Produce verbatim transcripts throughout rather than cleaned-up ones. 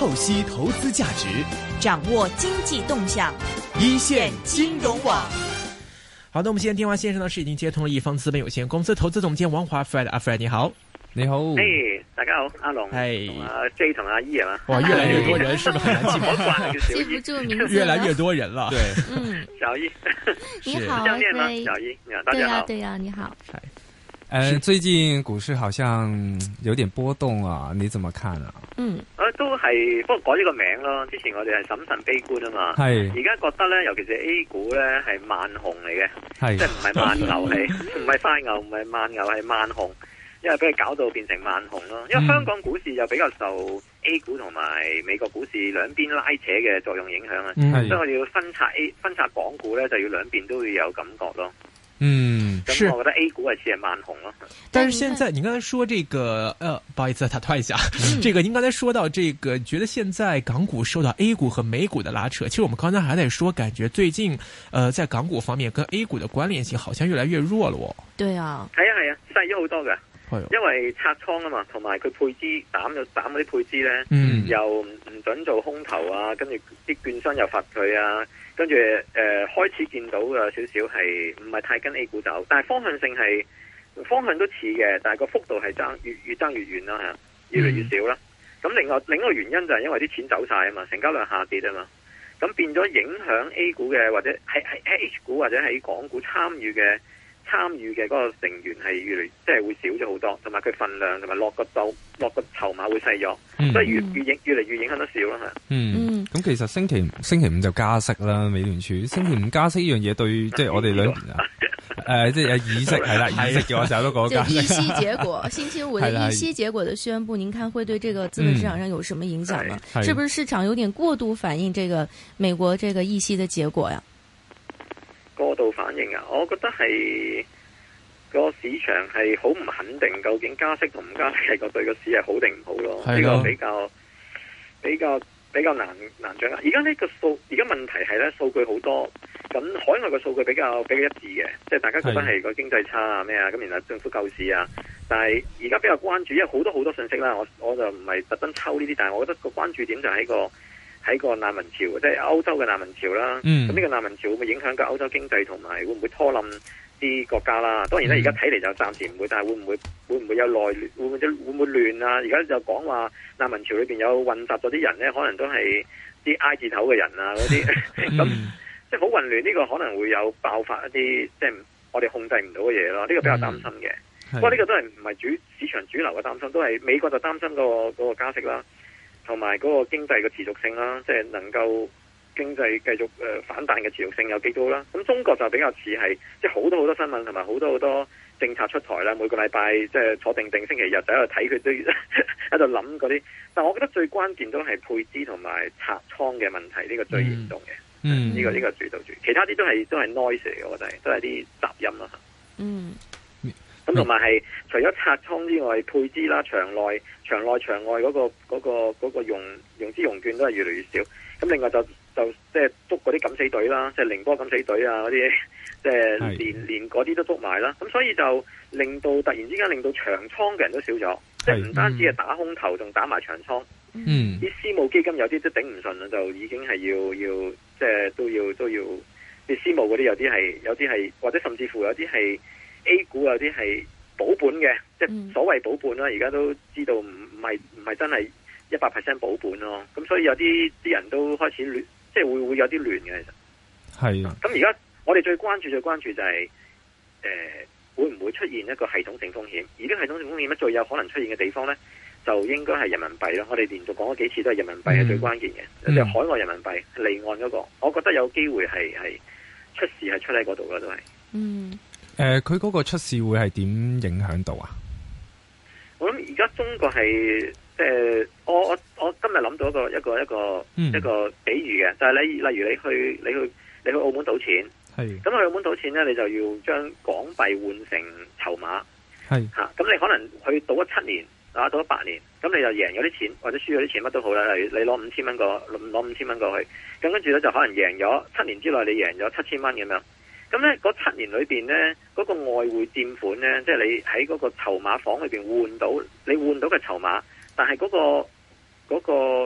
透析投資價值， 掌握經濟動向， 一線金融網。好的，我們現在電話線上呢是已經接通了一方資本有限公司投資總監王華 Fred， 阿 Fred 你好。 你好， 誒、hey, 大家好，阿龍， 係阿 J 同阿 E 係嘛？ 哇，越來越多人，是不是很難記記不住名字， 越來越多人了。對， 嗯， 小 E， 你好， 這樣念嗎？ 對小 E， 大家好， 對呀、啊，你好。 呃，最近股市好像有點波動啊，你怎麼看啊？ 嗯，誒都係，不過改咗個名咯。之前我哋係審慎悲觀啊嘛， 係。而家覺得咧，尤其是 A 股咧係慢熊嚟嘅， 係， 即係唔係慢牛係，唔係快牛，唔係慢牛係慢熊，因為俾佢搞到變成慢熊咯。因為香港股市又比較受 A 股同埋美國股市兩邊拉扯嘅作用影響啊，所以我哋要分拆 A 分拆港股咧，就要兩邊都要有感覺咯。 嗯， 咁我覺得 A 股係似係慢熊咯。 但是現在你剛才說這個，呃，不好意思，打斷一下，嗯、這個您剛才說到這個，覺得現在港股受到 A 股和美股的拉扯。其實我們剛才還在說，感覺最近，呃，在港股方面跟 A 股的關聯性好像越來越弱了哦。 對啊， 係啊係啊，細咗好多嘅。因為拆倉啊嘛，同埋佢配資斬咗斬嗰啲配資咧，嗯、又唔唔准做空頭啊，跟住啲券商又罰佢啊，跟住誒開始見到有少少係唔係太跟 A 股走，但係方向性係方向都似嘅，但係個幅度係爭越越爭越遠啦，係越嚟越少啦。咁、嗯、另外另一個原因就係因為啲錢走晒啊嘛，成交量下跌啊嘛，咁變咗影響 A 股嘅或者喺喺 H 股或者喺港股參與嘅。參與嘅嗰個成員係越嚟即係會少咗好多，同埋佢份量同埋落個度落個籌碼會細咗，嗯、所以越越影越嚟越影響得少啦嚇。嗯， 咁、嗯、其實星期星期五就加息啦，美聯儲星期五加息呢樣嘢對即係我哋兩誒即係有議息係啦，議息嘅我成日都講加息。 議息結果，星期五的議息結果的宣佈，您看會對這個資本市場上有什麼影響呢？嗯、是不是市場有點過度反映這個美國這個議息的結果呀？ 過度反應啊！我覺得係個市場係好唔肯定，究竟加息同唔加息係個對個市係好定唔好咯？呢個比較比較比較難難掌握。而家呢個數，而家問題係咧數據好多，咁海外嘅數據比較比較一致嘅，即係大家覺得係個經濟差啊咩啊，咁然後政府救市啊。但係而家比較關注，因為好多好多信息啦，我我就唔係特登抽呢啲，但係我覺得個關注點就喺個。喺個難民潮，即係歐洲嘅難民潮啦。咁呢、嗯、個難民潮會唔會影響個歐洲經濟，同埋會唔會拖冧啲國家啦？當然咧，而家睇嚟就暫時唔會，但係會唔會會唔會有內亂？會唔會會唔會亂啊？而家就講話難民潮裏邊有混雜咗啲人咧，可能都係啲 I 字頭嘅人啊嗰啲，咁即係好混亂。呢、這個可能會有爆發一啲即係我哋控制唔到嘅嘢咯。呢、這個比較擔心嘅。嗯、不過呢個都係唔係主市場主流嘅擔心，都係美國就擔心嗰、那個、那個加息啦。同埋嗰個經濟嘅持續性啦，即係能夠經濟繼續誒反彈嘅持續性有幾高啦。咁中國就比較似係即係好多好多新聞同埋好多好多政策出台啦。每個禮拜即係坐定定，星期日就喺度睇佢都喺度諗嗰啲。但係我覺得最關鍵都係配資同埋拆倉嘅問題，呢、這個最嚴重嘅。嗯，呢、這個呢、這個主導住，其他啲都係都係 noise 嚟嘅，我覺得都係啲雜音啦。嗯。咁同埋係除咗拆倉之外，配資啦、場內、場內、場外嗰、那個嗰、那個嗰、那個融融資融券都係越嚟越少。咁另外就就即係捉嗰啲敢死隊啦，即係寧波敢死隊啊嗰啲，即係連連嗰啲都捉埋啦。咁所以就令到突然之間令到長倉嘅人都少咗，即係唔單止係打空頭，仲打埋長倉。嗯，啲私募基金有啲都頂唔順啦，就已經係要要即係都要都要啲私募嗰啲有啲係有啲係或者甚至乎有啲係。A 股有啲係保本嘅，即係所謂保本啦。而家都知道唔唔係唔係真係一百 percent 保本咯。咁所以有啲啲人都開始亂，即係會會有啲亂嘅。其實係啊。咁而家我哋最關注最關注就係、是、誒、呃、會唔會出現一個系統性風險？而啲系統性風險咧最有可能出現嘅地方咧，就應該係人民幣咯。我哋連續講咗幾次都係人民幣係最關鍵嘅，即係、嗯、海外人民幣離岸嗰、那個，我覺得有機會係係出事係出喺嗰度啦，都係。嗯。 誒、呃，佢嗰個出事會係點影響到啊？ 我諗而家中國係即係我我我今日諗到一個一個一個、嗯、一個比喻嘅，就係、是、你例如你去你去你去澳門賭錢，係咁去澳門賭錢咧，你就要將港幣換成籌碼，係吓咁你可能去賭咗七年啊，賭咗八年，咁你就贏咗啲錢或者輸咗啲錢乜都好啦，例如你攞五千蚊過攞五千蚊過去，咁跟住咧就可能贏咗七年之內你贏咗七千蚊咁樣。咁咧，嗰七年裏邊咧，嗰、那個外匯佔款咧，即係你喺嗰個籌碼房裏邊換到，你換到嘅籌碼，但係嗰、那個嗰、那個誒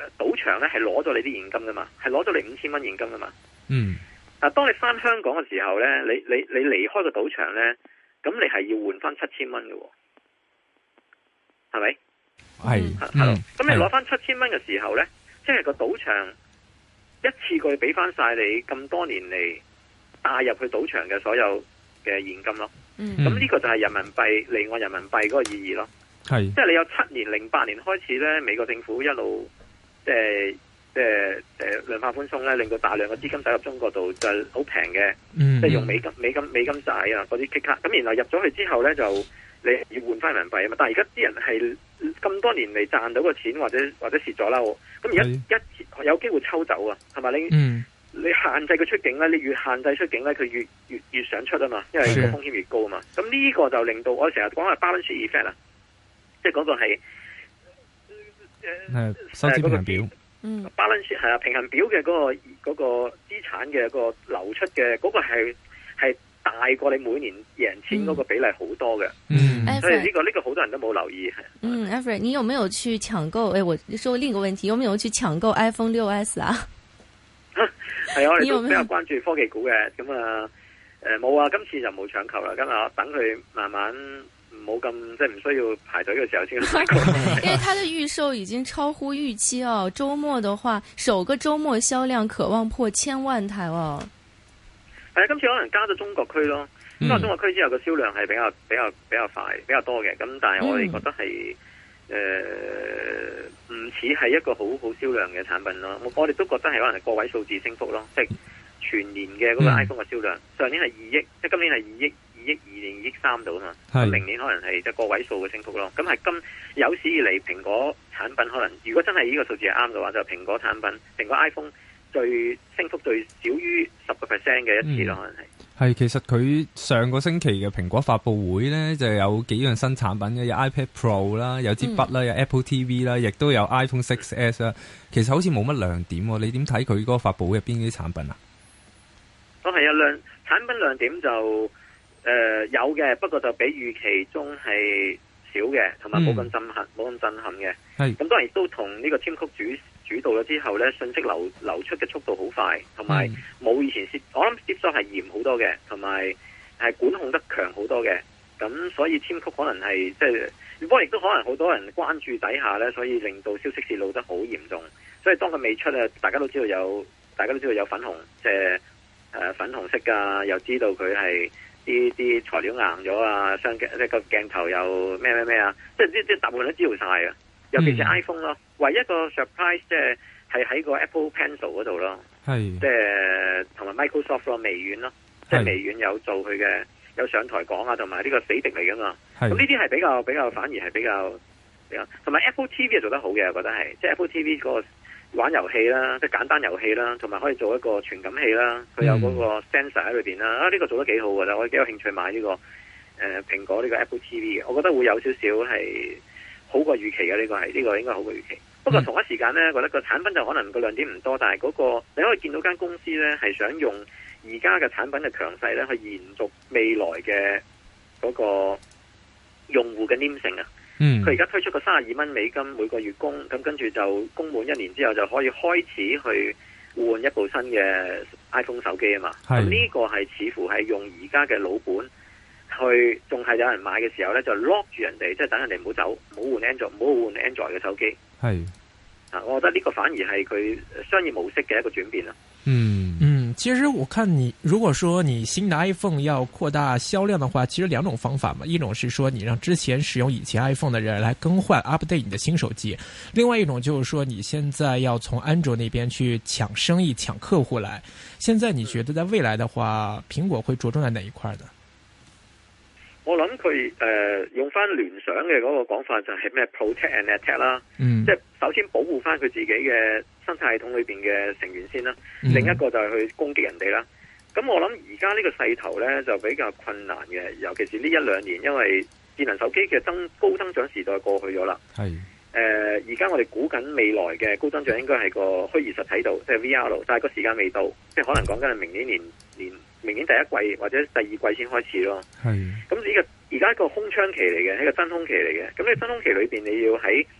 賭場咧係攞咗你啲現金噶嘛，係攞咗你五千蚊現金噶嘛。 嗯。 但當你翻香港嘅時候咧，你你你離開個賭場咧，咁你係要換翻七千蚊嘅，係咪？ 係。 係咯。咁你攞翻七千蚊嘅時候咧，即係個賭場一次過俾翻晒你咁多年嚟帶入去賭場嘅所有嘅現金咯。嗯。咁呢個就係人民幣離岸人民幣嗰個意義咯。係。即係你有七年零八年開始咧，美國政府一路即係。即係誒量化寬鬆咧，令到大量嘅資金走入中國度就好平嘅，嗯、即係用美金、美金、美金債啊嗰啲 K 卡，咁然後入咗去之後咧，就你要換翻人民幣啊嘛。但係而家啲人係咁多年嚟賺到個錢，或者或者蝕咗啦，咁而家一有機會抽走啊，係咪你、嗯、你限制佢出境咧？你越限制出境咧，佢越越越想出啊嘛，因為個風險越高啊嘛。咁呢個就令到我成日講係 balance sheet effect 啊，即係嗰個係誒收支平衡表。 嗯 balance 係啊，平衡表嘅嗰、那個嗰、那個資產嘅個流出嘅嗰、那個係係大過你每年贏錢嗰個比例好多嘅。嗯，所以呢、這個呢、這個好多人都冇留意。 嗯 Alfred 你有沒有去搶購？誒、哎，我說另一個問題，有沒有去搶購 iPhone 六 S 啊？ 係啊，我哋都比較關注科技股嘅。咁啊，誒冇啊，今次就冇搶購啦。咁啊，等佢慢慢。冇咁即係唔需要排隊嘅時候先。 因為它的預售已經超乎預期哦，周末的話，首個周末銷量可望破千萬台哦。 係啊，今次可能加咗中國區咯，加咗中國區之後個銷量係比較比較比較快，比較多嘅。咁但係我哋覺得係誒唔似係一個好好銷量嘅產品咯。我我哋都覺得係可能係個位數字升幅咯，即係全年嘅嗰個 iPhone 嘅銷量，嗯、上年係二億，即係今年係二億。億二定二億三度啊嘛，明年可能係即係個位數嘅升幅咯。咁係今有史以嚟蘋果產品可能，如果真係呢個數字係啱嘅話，就蘋果產品，蘋果 iPhone 最升幅最少於十個 percent 嘅一次咯，可能係。係其實佢上個星期嘅蘋果發佈會咧，就有幾樣新產品嘅，有 iPad Pro 啦，有支筆啦，有 Apple T V 啦，亦都有 iPhone 六 S 啦。其實好似冇乜亮點，你點睇佢嗰個發佈會入邊啲產品啊？ 都係啊，亮產品亮點就。誒、呃，有嘅，不過就比預期中係少嘅，同埋冇咁震撼，冇咁、嗯、震撼嘅。係咁，當然都同呢個 Tim Cook 主主導咗之後咧，信息流流出嘅速度好快，同埋冇以前接，我諗接收係嚴好多嘅，同埋係管控得強好多嘅。咁所以 Tim Cook 可能係即係，不過亦都可能好多人關注底下咧，所以令到消息泄露得好嚴重。所以當佢未出啊，大家都知道有，大家都知道有粉紅，即係誒粉紅色噶，又知道佢係。啲啲材料硬咗啊，相鏡即係個鏡頭又咩咩咩啊，即係啲啲大部分都知道晒啊。尤其是 iPhone 咯，唯一個 surprise 即係係喺個 Apple Pencil 嗰度咯，係即係同埋 Microsoft 咯，微軟咯，即係微軟有做佢嘅有上台講啊，同埋呢個死敵嚟噶嘛。咁呢啲係比較比較反而係比較比較，同埋 Apple T V 係做得好嘅，我覺得係即係 Apple T V 嗰個。玩遊戲啦，即係簡單遊戲啦，同埋可以做一個傳感器啦。佢有嗰個 sensor 喺裏邊啦。啊，呢、這個做得幾好㗎，我幾有興趣買呢、這個誒蘋、呃、果呢個 Apple T V 嘅。我覺得會有少少係好過預期嘅，呢、這個係呢、這個應該好過預期。不過同一時間咧，覺得個產品就可能個亮點唔多，但係嗰、那個你可以見到間公司咧係想用而家嘅產品嘅強勢咧去延續未來嘅嗰個用戶嘅黏性啊。嗯，佢而家推出個三十二蚊美金每個月供，咁跟住就供滿一年之後就可以開始去換一部新嘅 iPhone 手機啊嘛。咁呢個係似乎係用而家嘅老本去，仲係有人買嘅時候咧就 lock 住人哋，即係等人哋唔好走，唔好換 Android，唔好換 Android 嘅手機。係啊，我覺得呢個反而係佢商業模式嘅一個轉變啦。 嗯嗯，其實我看你如果說你新的 iPhone 要擴大銷量的話，其實兩種方法嘛，一種是說你讓之前使用以前 iPhone 的人來更換 update 你的新手機，另外一種就是說你現在要從 Android 那邊去搶生意搶客戶來。現在你覺得在未來的話，蘋果會着重在哪一塊呢？ 我諗佢誒用翻聯想嘅嗰個講法就係咩 protect and attack 啦，嗯，即係首先保護翻佢自己嘅生態系統裏邊嘅成員先啦，嗯、另一個就係去攻擊人哋啦。咁我諗而家呢個勢頭咧就比較困難嘅，尤其是呢一兩年，因為智能手機嘅增高增長時代過去咗啦。係誒而家我哋估緊未來嘅高增長應該係個虛擬實體度，即係 V R， 但係個時間未到，即係可能講緊係明年年年。明年第一季或者第二季先開始咯。係咁呢個而家一個空窗期嚟嘅，係一個真空期嚟嘅。咁你真空期裏邊你要喺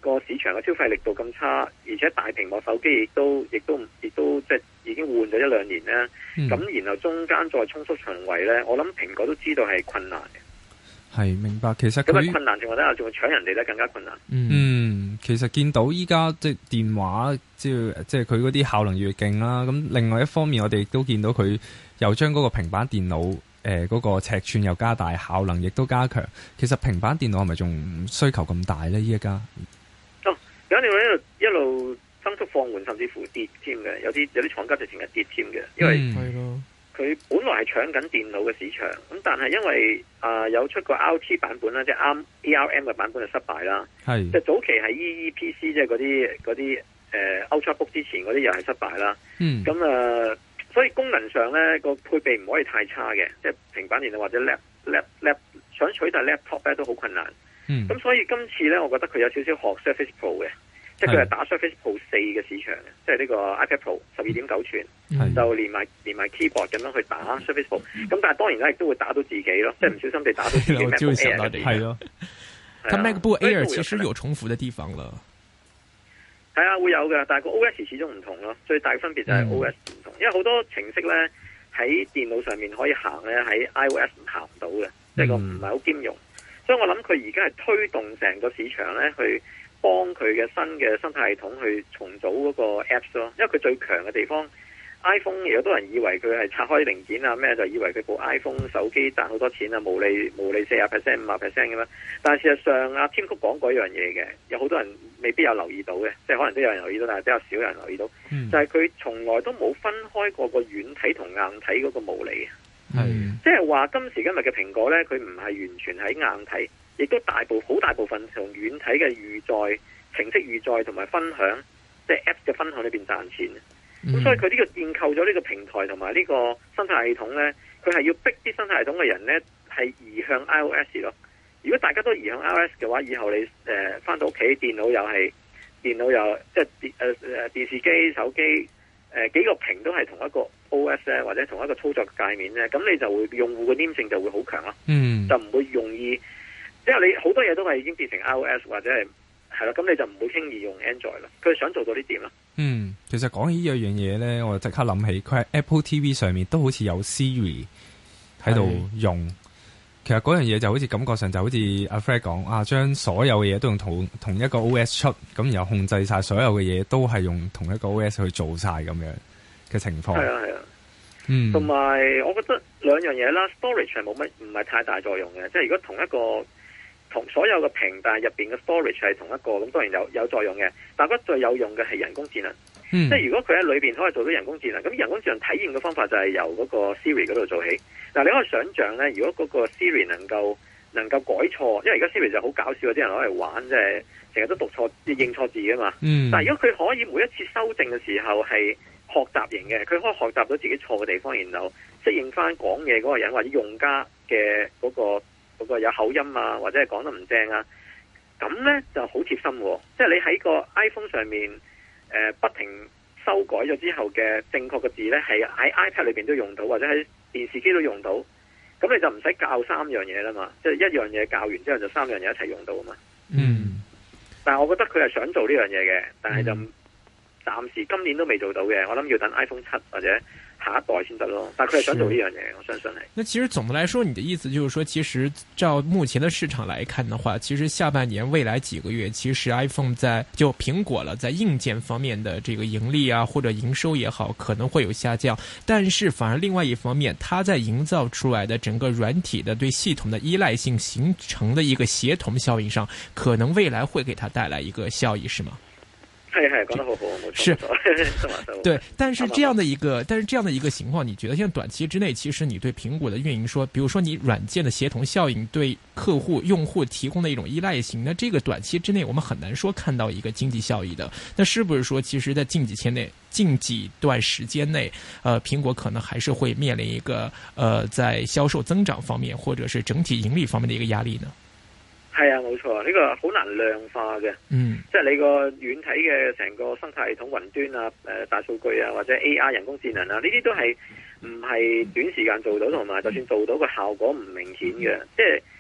個市場嘅消費力度咁差，而且大屏幕手機亦都亦都亦都即係已經換咗一兩年咧，咁、嗯、然後中間再衝出重圍咧，我諗蘋果都知道係困難嘅。 係明白，其實咁啊困難情況底下，仲會搶人哋咧更加困難。 嗯，嗯其實見到依家即係電話，即係即係佢嗰啲效能越勁啦。咁另外一方面，我哋亦都見到佢又將嗰個平板電腦誒嗰個尺寸又加大，效能亦都加強。其實平板電腦係咪仲需求咁大咧？依一家哦，有啲一路一路增速放緩，甚至乎跌添嘅。有啲有啲廠家直情係跌添嘅，因為係咯。嗯佢本來係搶緊電腦嘅市場，咁但係因為啊、呃、有出過 R T 版本啦，即係啱 A R M 嘅版本就失敗啦。係，即係早期係 E E P C 即係嗰啲嗰啲誒 Ultrabook 之前嗰啲又係失敗啦。嗯，咁啊、呃，所以功能上咧個配備唔可以太差嘅，即係平板電腦或者 lap lap lap 想取代 laptop 咧都好困難。嗯，咁所以今次咧，我覺得佢有少少學 Surface Pro 嘅。即係佢係打 Surface Pro 四嘅市場嘅，即係呢個 iPad Pro 十二點九寸，就連埋連埋 keyboard 咁樣去打 Surface Pro。咁但係當然咧，亦都會打到自己咯，即係唔小心地打到自己 MacBook Air 嘅。係咯， 佢 MacBook Air 其實有重複嘅地方啦。 係啊，會有嘅，但係個 O S 始終唔同咯。最大嘅分別就係 O S 唔同，嗯、因為好多程式咧喺電腦上面可以行咧，喺 iOS 行唔到嘅，即係個唔係好兼容。所以我諗佢而家係推動成個市場咧去。幫佢嘅新嘅生態系統去重組嗰個 Apps 咯，因為佢最強嘅地方 iPhone 有好多人以為佢係拆開零件啊咩，就以為佢部 iPhone 手機賺好多錢啊，毛利毛利四十 percent 五十 percent 咁樣。但係事實上阿 Tim Cook 講過一樣嘢嘅，有好多人未必有留意到嘅，即係可能都有人留意到，但係比較少人留意到，嗯、就係佢從來都冇分開過個軟體同硬體嗰個毛利。係，即係話今時今日嘅蘋果咧，佢唔係完全喺硬體。亦都大部好大部分從軟體嘅預載、程式預載同埋分享，即係 Apps 嘅分享裏邊賺錢。咁、嗯、所以佢呢個建構咗呢個平台同埋呢個生態系統咧，佢係要逼啲生態系統嘅人咧係移向 iOS 咯。如果大家都移向 iOS 嘅話，以後你誒翻到屋企電腦又係電腦又即係電誒誒電視機、手機誒、呃、幾個屏都係同一個 O S 咧，或者同一個操作界面咧，咁你就會用戶嘅黏性就會好強咯。嗯，就唔會容易。因為你好多嘢都係已經變成 iOS 或者係係啦，咁你就唔會輕易用 Android 啦。佢想做到呢點啦。嗯， 其實講起呢樣嘢咧，我就即刻諗起佢喺 Apple T V 上面都好似有 Siri 喺度用。其實嗰樣嘢就好似感覺上就好似阿 Fred 講啊，將所有嘅嘢都用同同一個 O S 出，咁然後控制晒所有嘅嘢都係用同一個 O S 去做晒咁樣嘅情況。係啊係啊，嗯，同埋我覺得兩樣嘢啦 ，storage 係冇乜唔係太大作用嘅，即係如果同一個。同所有嘅屏，但係入邊嘅 storage 係同一個，咁當然有有作用嘅。但係我覺得最有用嘅係人工智能，嗯、即係如果佢喺裏邊可以做到人工智能，咁人工智能體驗嘅方法就係由嗰個 Siri 嗰度做起。嗱，你可以想象咧，如果嗰個 Siri 能夠能夠改錯，因為而家 Siri 就好搞笑，啲人攞嚟玩，即係成日都讀錯、認錯字噶嘛。嗯、但係如果佢可以每一次修正嘅時候係學習型嘅，佢可以學習到自己錯嘅地方，然後適應翻講嘢嗰個人或者用家嘅嗰個。嗰個有口音啊，或者係講得唔正啊，咁呢就好貼心喎。即係你喺個 iPhone 上面，呃、不停修改咗之後嘅正確嘅字呢，係喺 iPad 裏邊都用到，或者喺電視機都用到。咁你就唔使教三樣嘢啦嘛，即係一樣嘢教完之後就三樣嘢一齊用到啊嘛。嗯。但係我覺得佢係想做呢樣嘢嘅，但係就暫時今年都未做到嘅。我諗要等 iPhone 七或者下一代先得咯，但係佢係想做呢樣嘢，我相信係。 那其實總的來說，你的意思就是說，其實照目前的市場來看的話，其實下半年未來幾個月，其實 iPhone 在就蘋果了，在硬件方面的這個盈利啊或者營收也好，可能會有下降。但是反而另外一方面，它在營造出來的整個軟體的對系統的依賴性形成的一個協同效應上，可能未來會給它帶來一個效益，是嗎？ 係係講得好好，冇錯。 是，對，但是這樣的一個，但是這樣的一個情況，你覺得現在短期之內，其實你對蘋果的運營說，比如說你軟件的協同效應對客戶用戶提供的一種依賴性，那這個短期之內我們很難說看到一個經濟效益的。那是不是說，其實在近幾天內、近幾段時間內，呃，蘋果可能還是會面臨一個，呃，在銷售增長方面或者是整體盈利方面的一個壓力呢？ 係啊，冇錯，呢、這個好難量化嘅，嗯，即係你個軟體嘅成個生態系統、雲端啊、誒、呃、大數據啊，或者 A I 人工智能啊，呢啲都係唔係短時間做到，同埋就算做到個效果唔明顯嘅，即係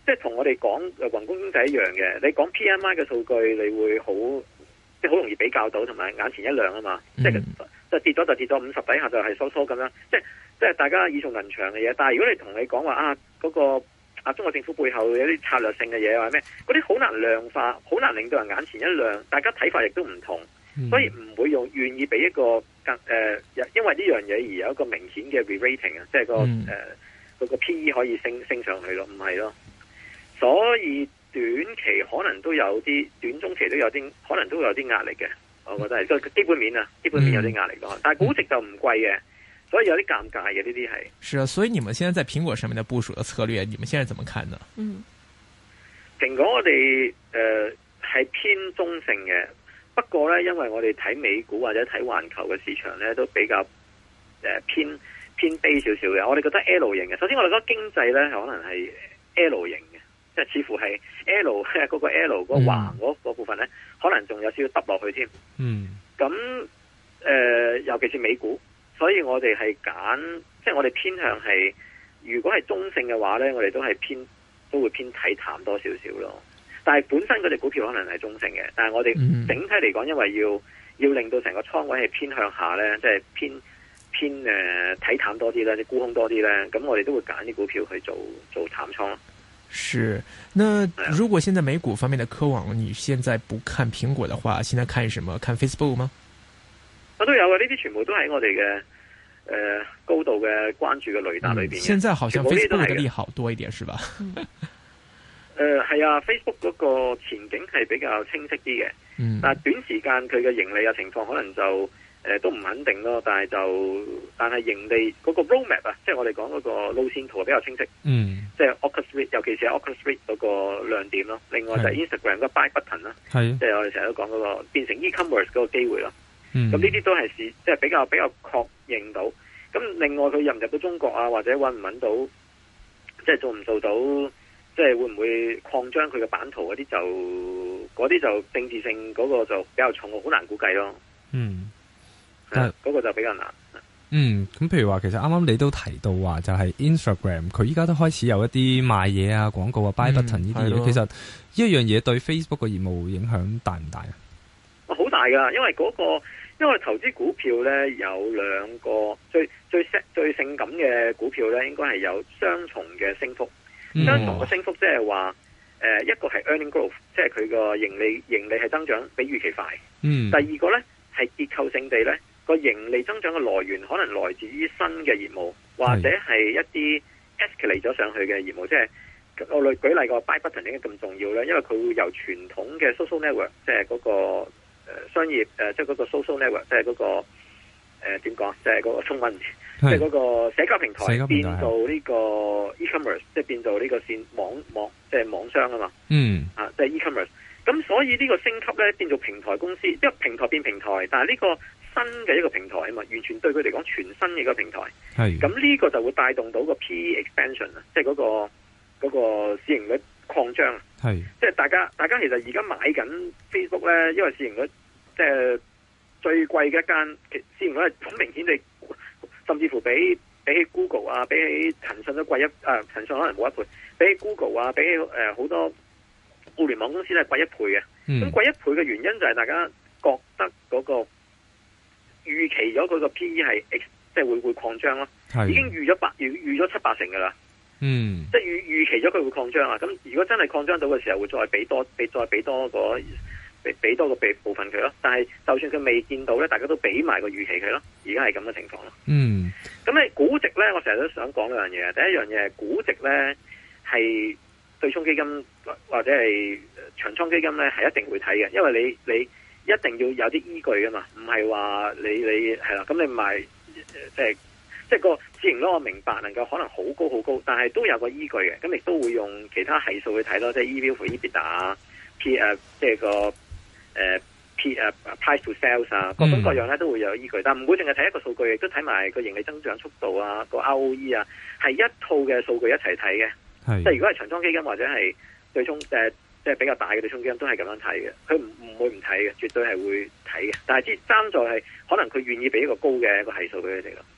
即係同我哋講誒宏觀經濟一樣嘅。你講 P M I 嘅數據，你會好即係好容易比較到，同埋眼前一亮啊嘛。嗯、即係即係跌咗就跌咗，五十底下就係收縮咁樣。即係即係大家耳熟能詳嘅嘢。但係如果你同你講話啊嗰、嗰個啊中國政府背後有啲策略性嘅嘢或者咩，嗰啲好難量化，好難令到人眼前一亮。大家睇法亦都唔同，嗯、所以唔會用願意俾一個更誒、呃，因為呢樣嘢而有一個明顯嘅 re-rating 啊，即係個誒。嗯呃嗰個 P E 可以升升上去咯，唔係咯，所以短期可能都有啲，短中期都有啲，可能都有啲壓力嘅。我覺得係個基本面啊，基本面有啲壓力咯。嗯、但係估值就唔貴嘅，所以有啲尷尬嘅呢啲係。 是啊，所以你們現在在蘋果上面的部署的策略，你們現在怎麼看呢？ 嗯， 蘋果我哋誒係偏中性嘅，不過咧，因為我哋睇美股或者睇環球嘅市場咧，都比較誒、呃、偏。偏低少少嘅，我哋覺得 L 型嘅。首先我哋覺得經濟咧可能係 L 型嘅，即係似乎係 L 嗰個 L 嗰個橫嗰個部分咧，嗯、可能仲有少少揼落去添。嗯。咁誒、呃，尤其是美股，所以我哋係揀，即係我哋偏向係，如果係中性嘅話咧，我哋都係偏都會偏睇淡多少少咯。但係本身嗰隻股票可能係中性嘅，但係我哋整體嚟講，因為要要令到成個倉位係偏向下咧，即係偏。偏誒睇淡多啲咧，啲沽空多啲咧，咁我哋都會揀啲股票去做做淡倉。 是，那如果現在美股方面的科網，你現在不看蘋果的話，現在看什麼？看 Facebook 嗎？ 我都有啊，呢啲全部都喺我哋嘅誒高度嘅關注嘅雷達裏邊、嗯。現在好像 Facebook 嘅利好多一點，是吧？ 誒係啊 ，Facebook 嗰個前景係比較清晰啲嘅，嗯、但係短時間佢嘅盈利嘅情況可能就。誒、呃，都唔肯定咯，但係就，但係盈利嗰個 roadmap 啊，即係我哋講嗰個路線圖比較清晰。嗯，即係 Oculus Rift，尤其是係 Oculus Rift 嗰個亮點咯。另外就係 Instagram 個 buy button 啦，係，即係我哋成日都講嗰個變成 e-commerce 嗰個機會咯。嗯，咁呢啲都係是即係比較比較確認到。咁另外佢入唔入到中國啊，或者搵唔搵到，即係做唔做到，即係會唔會擴張佢嘅版圖嗰啲就，嗰啲就政治性嗰個就比較重，好難估計咯。嗯。但係嗰個就比較難。 嗯，咁譬如話，其實啱啱你都提到話，就係 Instagram 佢依家都開始有一啲賣嘢啊、廣告啊、buy button 呢啲嘢。其實呢一樣嘢對 Facebook 嘅業務影響大唔大啊？ 好大噶，因為嗰、嗰個因為投資股票咧有兩個最最最性感嘅股票咧，應該係有雙重嘅升幅。嗯、雙重嘅升幅即係話，誒、呃、一個係 earning growth，即係佢個盈利盈利係增長比預期快。嗯。第二個咧係結構性地咧。個盈利增長嘅來源可能來自於新嘅業務，或者係一啲 escalate 咗上去嘅業務。即係我舉舉例個 buy button 點解咁重要咧？因為佢會由傳統嘅 social network，即係嗰個誒商業誒，即係嗰個 social network，即係嗰個誒點講？即係嗰個中文，即係嗰個社交平台，平台變做呢個 e-commerce，即係變做呢個線網網，即係網商啊嘛。嗯，啊，即係 e-commerce。咁所以呢個升級咧變做平台公司，因為平台變平台，但係呢個新嘅一個平台啊嘛，完全對佢嚟講全新嘅一個平台。係咁呢個就會帶動到個 P E expansion 啊，即係嗰個嗰個市盈率擴張。係即係大家大家其實而家買緊 Facebook 咧，因為市盈率即係最貴嘅一間，市盈率係好明顯地，甚至乎比比起 Google 啊，比起騰訊都貴一誒，騰訊可能冇一倍，比起 Google 啊，比起誒好多互聯網公司咧貴一倍嘅。咁、嗯、貴一倍嘅原因就係大家覺得嗰個預期咗佢個 P E 係即係會會擴張咯，已經預咗八預預咗七八成噶啦。嗯，即係預預期咗佢會擴張啊。咁如果真係擴張到嘅時候，會再俾多俾再俾多個俾俾多個俾部分佢咯。但係就算佢未見到咧，大家都俾埋個預期佢咯。而家係咁嘅情況咯。嗯，咁你估值咧，我成日都想講兩樣嘢。第一樣嘢係估值咧係。對沖基金或者係長倉基金咧，係一定會睇嘅，因為你你一定要有啲依據噶嘛，唔係話你你係啦，咁你賣即係即係個市盈率我明白能夠可能好高好高，但係都有個依據嘅，咁亦都會用其他係數去睇咯，即係 E V to EBITDA 啊 P 誒即係個誒 P 誒 price to sales 啊，各種各樣咧都會有依據，但係唔會淨係睇一個數據，亦都睇埋個盈利增長速度啊，個 R O E 啊，係一套嘅數據一齊睇嘅。即係如果係長倉基金或者係對沖誒，即係比較大嘅對沖基金都係咁樣睇嘅，佢唔唔會唔睇嘅，絕對係會睇嘅。但係之爭在係可能佢願意俾一個高嘅一個係數俾佢哋咯。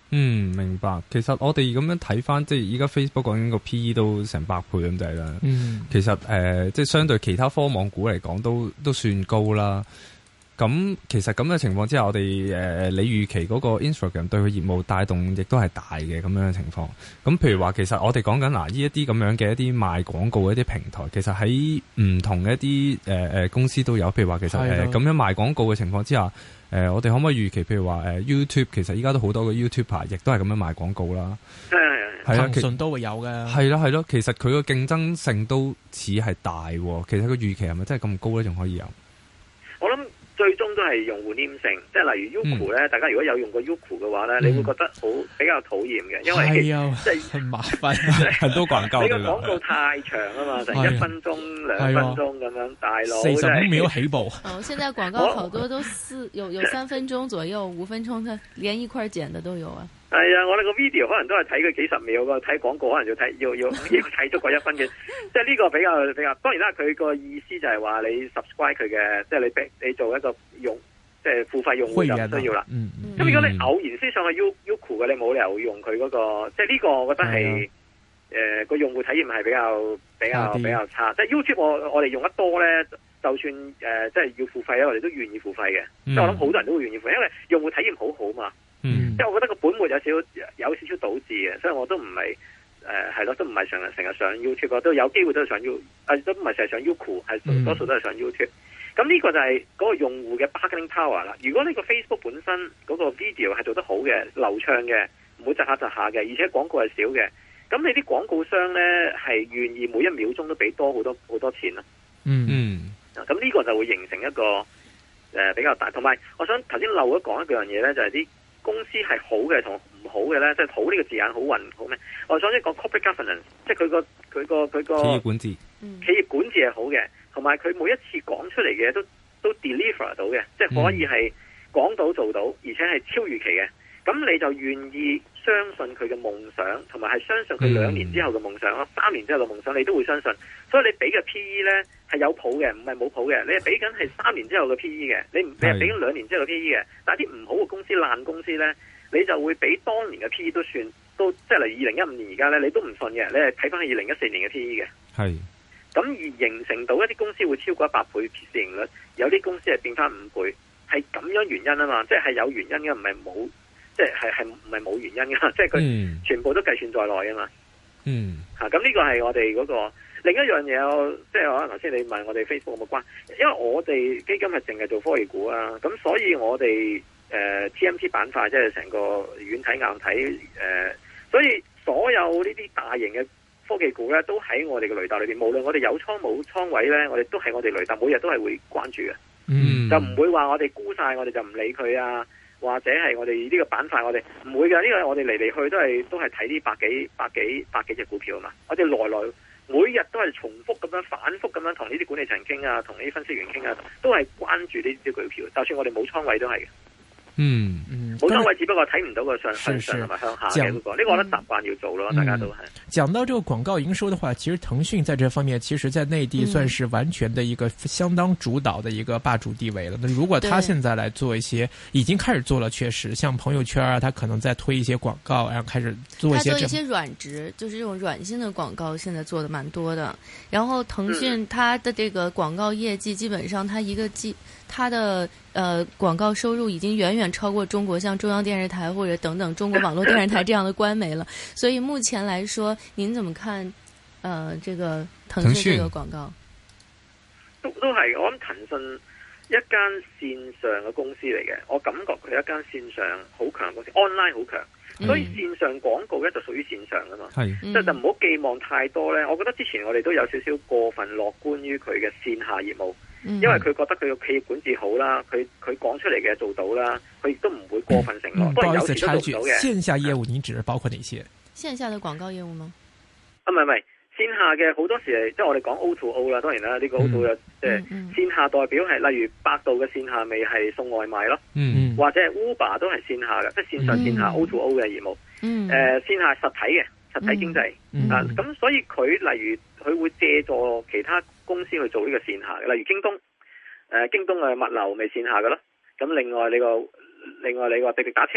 嗯，明白。其實我哋咁樣睇翻，即係依家 Facebook 講緊個 P E 都成百倍咁滯啦。嗯，其實誒、呃，即係相對其他科網股嚟講，都都算高啦。咁其實咁嘅情況之下，我哋誒、呃、你預期嗰個 Instagram 對佢業務帶動亦都係大嘅咁樣嘅情況。咁譬如話，其實我哋講緊嗱，呢一啲咁樣嘅一啲賣廣告嘅一啲平台，其實喺唔同嘅一啲誒誒公司都有。譬如話，其實誒咁、呃、樣賣廣告嘅情況之下。誒、呃，我哋可唔可以預期，譬如話誒、呃、YouTube， 其實依家都好多個 YouTuber，亦都係咁樣賣廣告啦。係係係， 騰訊都會有嘅。 係啦係咯，其實佢個競爭性都似係大喎。其實個預期係咪真係咁高咧？仲可以有？ 我諗最終都係用戶黏性，即係例如 Youku 咧、嗯，大家如果有用過 Youku 嘅話咧、嗯，你會覺得好比較討厭嘅，因為即係很麻煩， 很多廣告。 你個廣告太長啊嘛，成一分鐘、兩分鐘咁樣，大佬四十五秒起步。 哦，現在廣告好多都四有有三分鐘左右，五分鐘，它連一塊剪的都有啊。 係啊，我哋個 video 可能都係睇佢幾十秒噶，睇廣告可能要睇要要要睇足個一分嘅，即係呢個比較比較。當然啦，佢個意思就係話你 subscribe 佢嘅，即係你俾你做一個用，即係付費用戶就唔需要啦。嗯嗯。咁如果你偶然先上去 Youku 嘅，你冇理由用佢嗰個，即係呢個我覺得係誒個用戶體驗係比較比較比較差。即係 YouTube 我我哋用得多咧，就算誒、呃、即係要付費咧，我哋都願意付費嘅。即、嗯、係我諗好多人都會願意付費，因為用戶體驗好好嘛。嗯，即係我覺得個本末有少有少少倒置嘅，所以我都唔係誒係咯，都唔係成日成日上 YouTube， 都有機會都係上 U， 誒都唔係成日上 Youku， 係多數都係上 YouTube。咁呢個就係嗰個用戶嘅 bargaining power 啦。如果呢個 Facebook 本身嗰個 video 係做得好嘅、流暢嘅，唔會窒下窒下嘅，而且廣告係少嘅，咁你啲廣告商咧係願意每一秒鐘都俾多好多好多錢咯。嗯嗯，咁呢個就會形成一個誒、呃、比較大。同埋，我想頭先漏咗講一樣嘢咧，就係、是、啲公司係好嘅同唔好嘅咧，即係好呢個字眼好混好咩？我想先講 corporate governance， 即係佢個佢個佢個企業管治， 企業管治係好嘅，同埋佢每一次講出嚟嘅都都 deliver 到嘅，即係可以係講到做到，而且係超預期嘅。咁你就願意相信佢嘅夢想，同埋係相信佢兩年之後嘅夢想咯，三年之後嘅夢想你都會相信。所以你俾嘅 P E 咧係有譜嘅，唔係冇譜嘅。你係俾緊係三年之後嘅 P E 嘅，你唔你係俾緊兩年之後嘅 P E 嘅。但係啲唔好嘅公司、爛公司咧，你就會俾當年嘅 P E 都算都即係例如二零一五年而家咧，你都唔信嘅。你係睇翻係二零一四年嘅 P E 嘅。係。咁而形成到一啲公司會超過一百倍市盈率，有啲公司係變翻五倍，係咁樣原因啊嘛，即係有原因嘅，唔係冇。即係係唔係冇原因噶，即係佢全部都計算在內啊嘛。嗯，吓咁呢個係我哋嗰、那個另一樣嘢，即係可能頭先你問我哋 Facebook 有冇關，因為我哋基金係淨係做科技股啊，咁所以我哋誒、呃、T M T 板塊即係成個軟體硬體誒、呃，所以所有呢啲大型嘅科技股咧，都喺我哋嘅雷達裏邊，無論我哋有倉冇倉位咧，我哋都喺我哋雷達，每日都係會關注嘅。嗯，就唔會話我哋沽晒，我哋就唔理佢啊。或者係我哋呢個板塊，我哋唔會嘅。呢、這個我哋嚟嚟去都係都係睇啲百幾百幾百幾隻股票啊嘛。我哋來來每日都係重複咁樣反覆咁樣同呢啲管理層傾啊，同呢啲分析員傾啊，都係關注呢啲股票。就算我哋冇倉位都係嘅。嗯嗯，冇倉位只不過睇唔到個上向上同埋向下嘅嗰、那個，呢、這個我覺得習慣要做咯、嗯，大家都係。 講到這個廣告營收的話，其實騰訊在這方面，其實在內地算是完全的一個相當主導的一個霸主地位了。那如果他現在來做一些，已經開始做了，確實像朋友圈啊，他可能在推一些廣告，然後開始做一些。他做一些軟植，就是這種軟性的廣告，現在做的蠻多的。然後騰訊它的這個廣告業績，基本上它一個季。它的呃廣告收入已經遠遠超過中國像中央電視台或者等等中國網絡電視台這樣的官媒了，所以目前來說，您怎麼看？呃，這個騰訊這個廣告都都係我諗騰訊一間線上嘅公司嚟嘅，我感覺佢係一間線上好強嘅公司 ，online 好強，所以線上廣告咧就屬於線上噶嘛，係，即係就唔好寄望太多咧。我覺得之前我哋都有少少過分樂觀於佢嘅線下業務。因為佢覺得佢個企業管治好啦，佢佢講出嚟嘅做到啦，佢亦都唔會過分承諾。不過有時都做到嘅。 線下業務你指包括哪些？ 線下的廣告業務嗎？ 啊，唔係唔係，線下嘅好多時係即係我哋講 O to O 啦，當然啦，呢、這個 O to O 即係線下代表係例如百度嘅線下咪係送外賣咯，嗯、或者係 Uber 都係線下嘅，即係線上線下 O to O 嘅業務。誒、嗯呃，線下實體嘅實體經濟、嗯嗯、啊，咁所以佢例如佢會借助其他公司去做呢個線下嘅，例如京東，誒、呃，京東嘅物流咪線下嘅咯。咁另外你個，另外你話滴滴打車，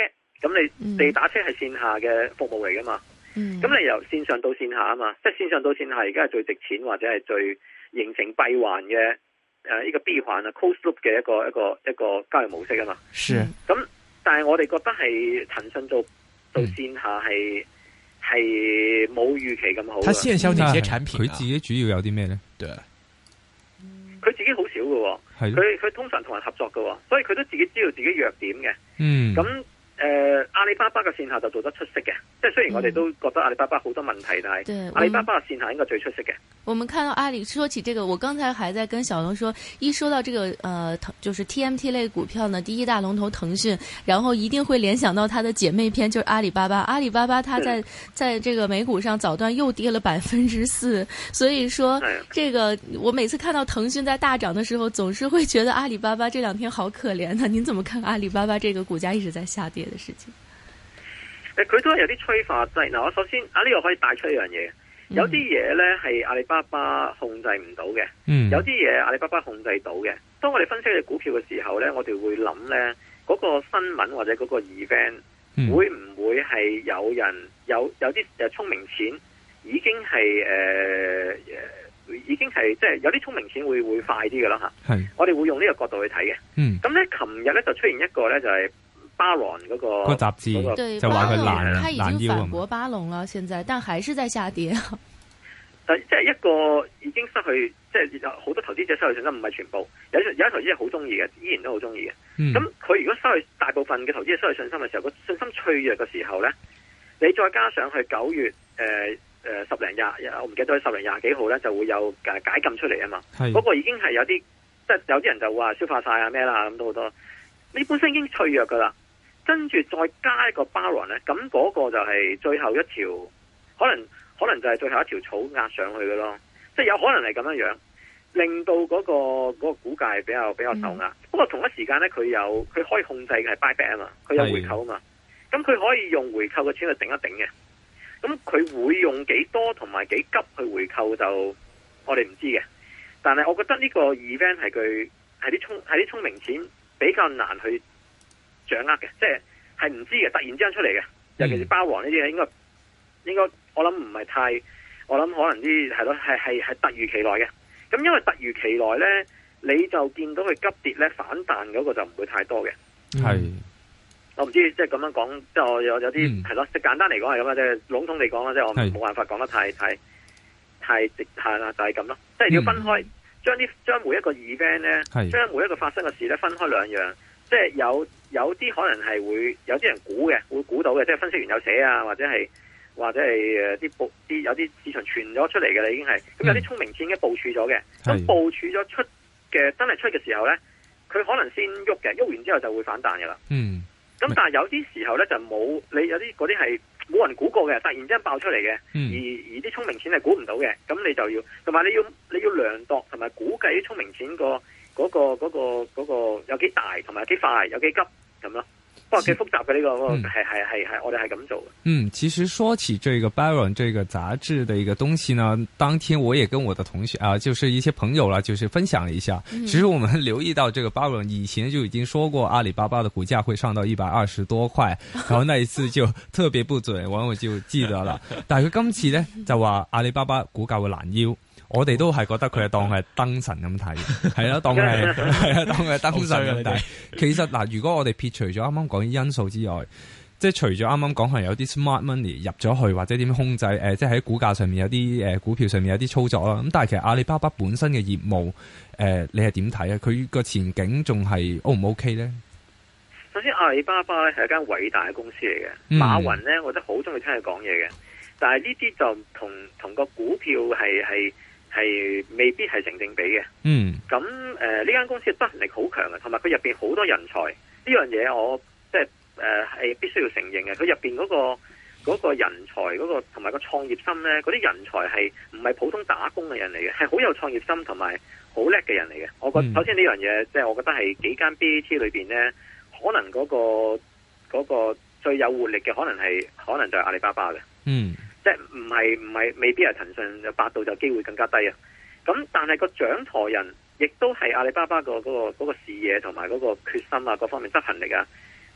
咁你地打車係線下嘅服務嚟噶嘛？咁、嗯、你由線上到線下啊嘛，即係線上到線下而家係最值錢或者係最形成閉環嘅誒呢個閉環啊 closed loop 嘅一個一個一個交易模式啊嘛。 是。 咁但係我哋覺得係騰訊做到線下係係冇預期咁好。 佢線銷哪些產品？ 佢自己主要有啲咩咧？ 對。 佢自己好少嘅，佢佢通常同人合作嘅，所以佢都自己知道自己弱點嘅。嗯。咁誒、呃，阿里巴巴嘅線下就做得出色嘅，即係雖然我哋都覺得阿里巴巴好多問題，但係阿里巴巴嘅線下應該最出色嘅。 我們看到阿里說起這個，我剛才還在跟小龍說，一說到這個，呃，就是 T M T 類股票呢，第一大龍頭騰訊，然後一定會聯想到它的姐妹篇，就是阿里巴巴。阿里巴巴它在在這個美股上早段又跌了百分之四，所以說這個我每次看到騰訊在大漲的時候，總是會覺得阿里巴巴這兩天好可憐的。您怎麼看阿里巴巴這個股價一直在下跌的事情？ 誒，佢都係有啲催化劑。嗱，我首先啊呢個可以帶出一樣嘢。有啲嘢咧係阿里巴巴控制唔到嘅，嗯、有啲嘢阿里巴巴控制到嘅。當我哋分析嘅股票嘅時候咧，我哋會諗咧嗰個新聞或者嗰個 event、嗯、會唔會係有人有有啲誒聰明錢已經係誒、呃、已經係即係有啲聰明錢會會快啲嘅啦吓。係，我哋會用呢個角度去睇嘅。嗯，咁咧琴日咧就出現一個咧就係、是。巴龍嗰、那個、那個雜誌、那個、 對就話佢爛他已經反駁巴龍了，現在但還是在下跌。 但即係一個已經失去，即係有好多投資者失去信心，唔係全部，有有啲投資者好中意嘅，依然都好中意嘅。咁佢、嗯、如果失去大部分嘅投資者失去信心嘅時候，個信心脆弱嘅時候咧，你再加上去九月誒誒、呃呃、十零廿，我唔記得咗十零廿幾號咧，就會有誒解禁出嚟啊嘛。嗰是個已經係有啲，即係有啲人就話消化晒啊咩啦咁都好多，你本身已經脆弱噶啦。跟住再加一個 baron 咧，咁嗰個就係最後一條，可能可能就係最後一條草壓上去嘅咯，即係有可能係咁樣樣，令到嗰、嗰個嗰、嗰個股價比較比較受壓。嗯、不過同一時間咧，佢有佢可以控制嘅係 buyback 啊嘛，佢有回購啊嘛，咁佢的可以用回購嘅錢去頂一頂嘅。咁佢會用幾多同埋幾急去回購就我哋唔知嘅。但係我覺得呢個 event 係佢係啲聰係啲聰明錢比較難去掌握嘅，即係係唔知嘅，突然之間出嚟嘅，尤其是包王呢啲嘢，應該應該我諗唔係太，我諗可能啲係咯，係係係突如其來嘅。咁因為突如其來咧，你就見到佢急跌咧，反彈嗰個就唔會太多嘅。係是，我唔知即係咁樣講，即係我有有啲係咯，即係簡單嚟講係咁啊，即係籠統嚟講啦，即係我冇辦法講得太太太直係啦，就係咁咯。即係要分開，將啲將每一個 event 咧，將是每一個發生嘅事咧分開兩樣。即係有有啲可能係會有啲人估嘅，會估到嘅，即係分析員有寫啊，或者係或者係誒啲部啲有啲市場傳咗出嚟嘅啦，已經係咁有啲聰明錢已經部署咗嘅，咁是部署咗出嘅真係出嘅時候咧，佢可能先喐嘅，喐完之後就會反彈嘅啦。嗯，咁但係有啲時候咧就冇，你有啲嗰啲係冇人估過嘅，突然之間爆出嚟嘅，嗯、而而啲聰明錢係估唔到嘅，咁你就要同埋你要你要量度同埋估計啲聰明錢個。嗰、那個嗰、那個嗰、那個有幾大，同埋有幾快，有幾急咁咯。不過幾複雜嘅呢、這個，係係係係我哋係咁做嘅。嗯， 其實說起這個 Baron 這個雜誌的一個東西呢，當天我也跟我的同學啊，就是一些朋友啦，就是分享了一下。嗯、其實我們留意到，這個 Baron 以前就已經說過阿里巴巴的股價會上到一百二十多塊，然後那一次就特別不準，我我就記得了。但係佢今次呢，就話阿里巴巴股價會攔腰。我哋都係覺得佢係當佢係燈神咁睇，係啦，當佢係係啊，當佢係燈神咁睇。其實嗱，如果我哋撇除咗啱啱講啲因素之外，即係除咗啱啱講係有啲 smart money 入咗去，或者點樣控制誒、呃，即係喺股價上面有啲誒、呃、股票上面有啲操作啦。咁但係其實阿里巴巴本身嘅業務誒、呃，你係點睇啊？佢個前景仲係 O 唔 OK 咧？ 首先，阿里巴巴咧係一間偉大嘅公司嚟嘅。嗯、馬雲咧，我覺得好中意聽佢講嘢嘅。但係呢啲就同同個股票係係。係未必係成正比嘅。嗯，咁誒呢間公司嘅執行力好強嘅，同埋佢入邊好多人才。呢樣嘢我即係誒係必須要承認嘅。佢入邊嗰個嗰個人才嗰個同埋個創業心咧，嗰啲人才係唔係普通打工嘅人嚟嘅，係好有創業心同埋好叻嘅人嚟嘅。我覺得、嗯、首先呢樣嘢，即係我覺得係幾間 B A T 裏邊咧，可能嗰個嗰個最有活力嘅，可能係可能就係阿里巴巴嘅。嗯。即係唔係唔係未必係騰訊，百度就機會更加低啊！咁但係個掌舵人亦都係阿里巴巴個嗰個嗰個視野同埋嗰個決心啊，各方面執行力啊，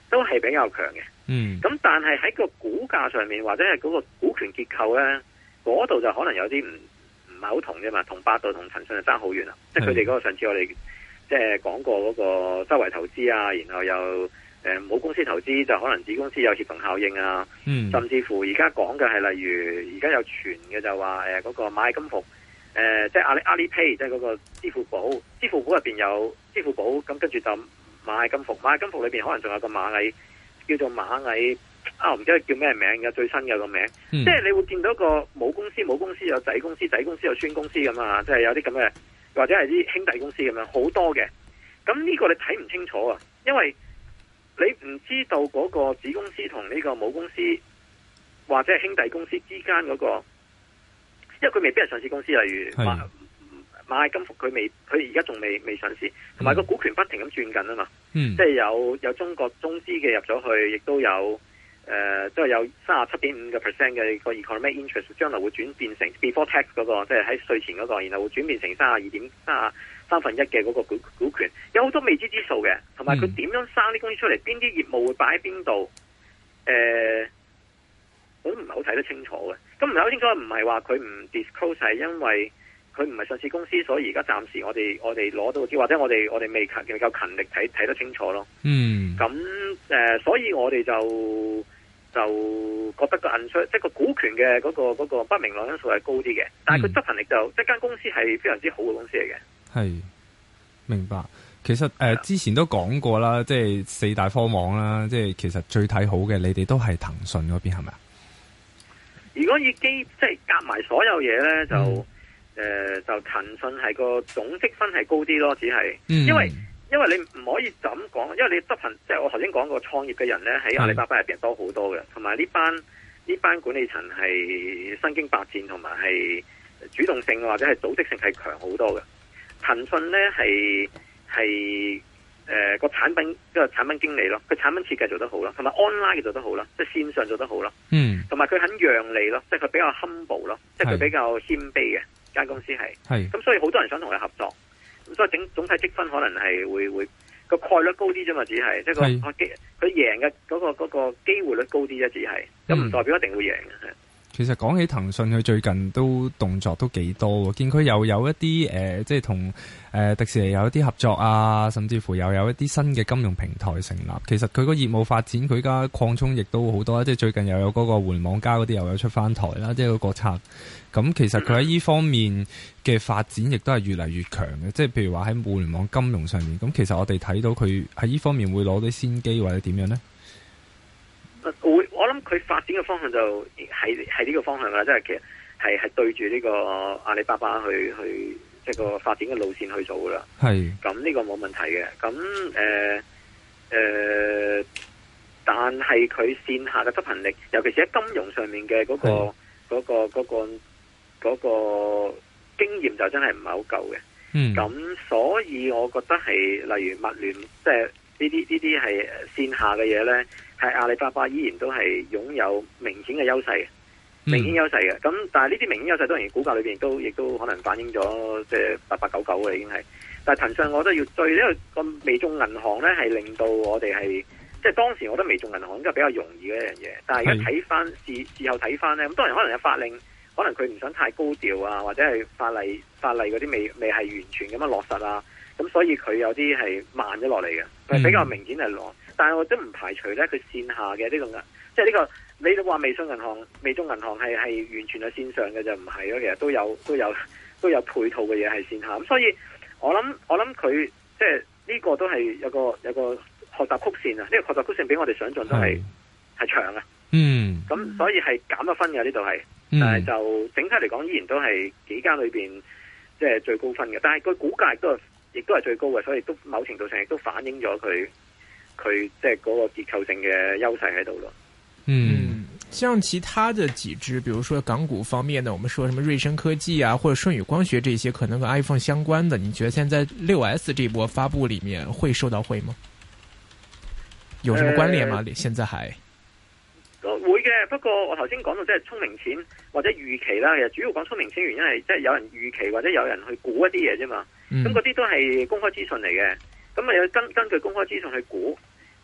都係比較強嘅。 嗯， 咁但係喺個股價上面或者係嗰個股權結構咧，嗰度就可能有啲唔唔係好同啫嘛，同百度同騰訊就爭好遠啦。即係佢哋嗰個上次我哋即係講過嗰個周圍投資啊，然後又誒冇公司投資就可能子公司有協同效應啊， 嗯， 甚至乎而家講嘅係例如而家有傳嘅就話誒嗰個螞蟻金服。誒、呃，即係阿里阿里 Pay，即係嗰個支付寶，支付寶入邊有支付寶，咁跟住就螞蟻金服，螞蟻金服裏邊可能仲有個螞蟻叫做螞蟻啊，我唔記得叫咩名嘅，最新嘅個名， 嗯、 即係你會見到個母公司，母公司有仔公司，仔公司有孫公司咁啊，即係有啲咁嘅，或者係啲兄弟公司咁樣，好多嘅。咁呢個你睇唔清楚啊，因為你唔知道嗰個子公司同呢個母公司或者係兄弟公司之間嗰個。因為佢未必係上市公司，例如螞螞蟻金服，佢未，佢而家仲未未上市，同埋個股權不停咁轉緊啊嘛， 嗯、 即係有有中國中資嘅入咗去，亦都有誒，即、呃、係有三十七點五個 percent 嘅個 economic interest，將來會轉變成 before tax 嗰、那個，即係喺稅前嗰、那個，然後會轉變成三十二點三三分一嘅嗰個股股權，有好多未知之數嘅，同埋佢點樣生啲公司出嚟，邊啲業務會擺喺邊度，誒、呃。我都唔係好睇得清楚嘅，咁唔係好清楚，唔係話佢唔 disclose，係因為佢唔係上市公司，所以而家暫時我哋我哋攞到啲，或者我哋我哋未勤未夠勤力睇睇得清楚咯。嗯，咁誒、呃，所以我哋就就覺得個 uncertain，即係個股權嘅嗰、嗰個、嗰個不明朗因素係高啲嘅，但係佢執行力就、嗯、即係間公司係非常之好嘅公司嚟嘅。係， 明白。其實誒、呃、之前都講過啦，即係四大科網啦，即係其實最睇好嘅，你哋都係騰訊嗰邊係咪啊？ 如果以基即係夾埋所有嘢咧，就誒、嗯呃、就騰訊係個總積分係高啲咯，只係、嗯、因為因為你唔可以就咁講，因為你執行即係我頭先講過創業嘅人咧喺阿里巴巴入邊多好多嘅，同埋呢班呢班管理層係身經百戰，同埋係主動性或者係組織性係強好多嘅。騰訊咧係係誒個產品即係產品經理咯，佢產品設計做得好咯，同埋 online 嘅做得好啦，即係線上做得好咯。嗯，同埋佢肯讓利咯，即係佢比較 humble 咯，即係佢比較謙卑嘅間公司係。係咁，所以好多人想同佢合作。咁所以整總體積分可能係會會個概率高啲啫嘛，只係即係個機佢贏嘅嗰個嗰個機會率高啲啫，只係咁唔代表一定會贏嘅。 其實講起騰訊，佢最近都動作都幾多，見佢又有一啲誒、呃，即係同誒迪士尼有一啲合作啊，甚至乎又有一啲新嘅金融平台成立。其實佢個業務發展，佢而家擴充亦都好多，即係最近又有嗰個互聯網加嗰啲又有出翻台啦，即係個國策。咁其實佢喺呢方面嘅發展亦都係越嚟越強嘅，即係譬如話喺互聯網金融上面。咁其實我哋睇到佢喺呢方面會攞啲先機或者點樣呢？ 會，我諗佢發展嘅方向就係係呢個方向啦，即係其實係係對住呢個阿里巴巴去去即係個發展嘅路線去做噶啦。係，咁呢個冇問題嘅。咁誒誒，但係佢線下嘅執行力，尤其是喺金融上面嘅嗰個嗰個嗰個嗰個經驗就真係唔係好夠嘅。嗯，咁所以我覺得係例如物聯，即係呢啲呢啲係線下嘅嘢咧。係阿里巴巴依然都係擁有明顯嘅優勢，明顯優勢嘅。咁、嗯、但係呢啲明顯優勢當然股價裏邊都亦都可能反映咗即係八八九九嘅已經係。但係騰訊我覺得要追，因為個微眾銀行咧係令到我哋係即係當時我覺得微眾銀行應該比較容易嘅一樣嘢。但係而家睇翻事事後睇翻咧，咁當然可能有法令，可能佢唔想太高調啊，或者係法例法例嗰啲未未係完全咁樣落實啊。咁所以佢有啲係慢咗落嚟嘅，係比較明顯係落。但係我都唔排除咧，佢線下嘅呢、這個即係呢個你都話微信銀行、微眾銀行係係完全係線上嘅就唔係咯，其實都有都有都有配套嘅嘢係線下。咁所以我諗我諗佢即係呢個都係有個有個學習曲線啊！呢、這個學習曲線比我哋想象都係係長啊。嗯，咁所以係減咗分嘅呢度係，但係就整體嚟講依然都係幾間裏邊即係最高分嘅。但係佢股價亦都係亦都係最高嘅，所以都某程度上亦都反映咗佢。佢即係嗰個結構性嘅優勢喺度咯。 嗯，像其他的幾支，比如說港股方面呢，我們說什麼瑞聲科技啊，或者舜宇光學這些，可能跟 iPhone 相關的，你覺得現在六 S 這波發布裏面會受到惠嗎？有什麼關聯嗎？呃、現在還會嘅，不過我頭先講到即係聰明錢或者預期啦，其實主要講聰明錢原因係即係有人預期或者有人去估一啲嘢啫嘛。咁嗰啲都係公開資訊嚟嘅。咁啊，有根根據公開資訊去估，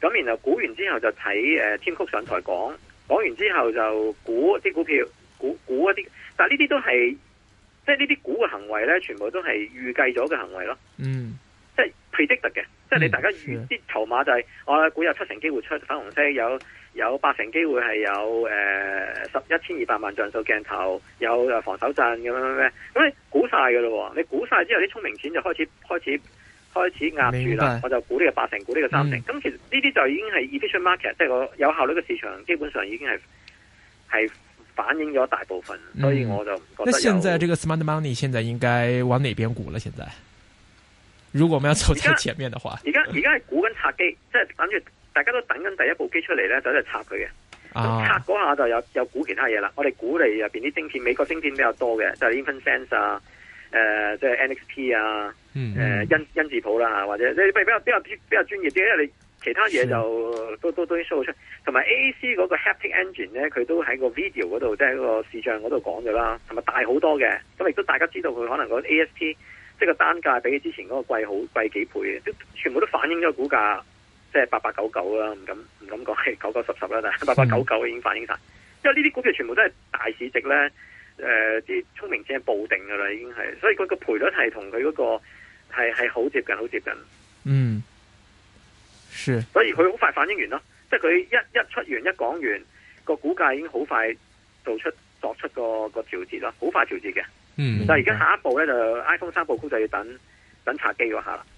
咁然後估完之後就睇誒 Tim Cook 上台講，講完之後就估啲股票，估估一啲，但係呢啲都係即係呢啲估嘅行為咧，全部都係預計咗嘅行為咯。嗯，即係 predict 嘅，嗯、即係你大家預啲籌碼就係、是、我估有七成機會出粉紅色，有有八成機會係有誒十一千二百萬像素鏡頭，有誒防手震咁樣咩咩，咁你估晒㗎咯喎，你估晒之後啲聰明錢就開始開始。開始壓住啦，我就估呢個八成，估呢個三成。咁、嗯、其實呢啲就已經係 efficient market，即係個有效率嘅市場，基本上已經係係反映咗大部分，嗯、所以我就唔覺得有。 那現在這個 smart money 現在應該往哪邊估了？現在，如果我們要走在前面的話， 而家而家係估緊拆機，即係等住大家都等緊第一部機出嚟咧，就喺度拆佢嘅。咁拆嗰下就有有估其他嘢啦。我哋估嚟入邊啲晶片，美國晶片比較多嘅，就係、是、InfinSense 啊。誒、呃，即係 N X P 啊，誒、呃，欣欣智浦啦，或者你比較比較比較專業啲，因為你其他嘢就都都都 show 出，同埋 A A C 嗰個 Haptic Engine 咧，佢都喺個 video 嗰度，即係個視像嗰度講咗啦，同埋大好多嘅，咁亦都大家知道佢可能個 A S P 即係個單價比起之前嗰個貴好貴幾倍嘅，都全部都反映咗個股價，即係八八九九啦，唔敢唔敢講係九九十十啦，但係八八九九已經反映晒，因為呢啲股票全部都係大市值咧。誒，啲聰、呃、明錢係報定噶啦，已經係，所以佢個賠率係同佢嗰個係係好接近，好接近。嗯，是。所以佢好快反應完咯，即係佢一一出完一講完個股價已經好快做出作出個個調節咯，好快調節嘅。嗯。但係而家下一步咧就 iPhone 三部曲就要等等拆機嗰下啦。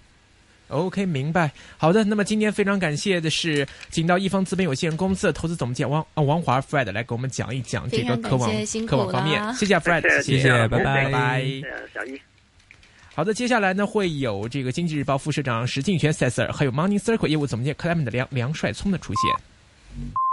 OK， 明白。好的，那麼今天非常感謝的是請到一方資本有限公司的投資總監王王華 Fred 來給我們講一講這個科網科網方面。謝謝 Fred，謝謝，謝謝，拜拜，拜拜。小易。好的，接下來呢會有這個經濟日報副社長石鏡泉 Sir，還有 Money Circle 業務總監 Clement 的梁梁帥聰的出現。